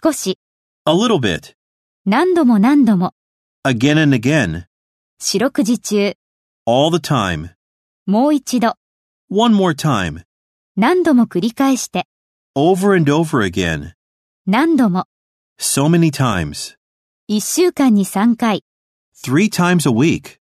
少し、 a little bit, 何度も何度も、 again and again, 四六時中、 all the time, もう一度、 one more time, 何度も繰り返して、 over and over again, 何度も、 so many times, 1週間に3回。 3 times a week.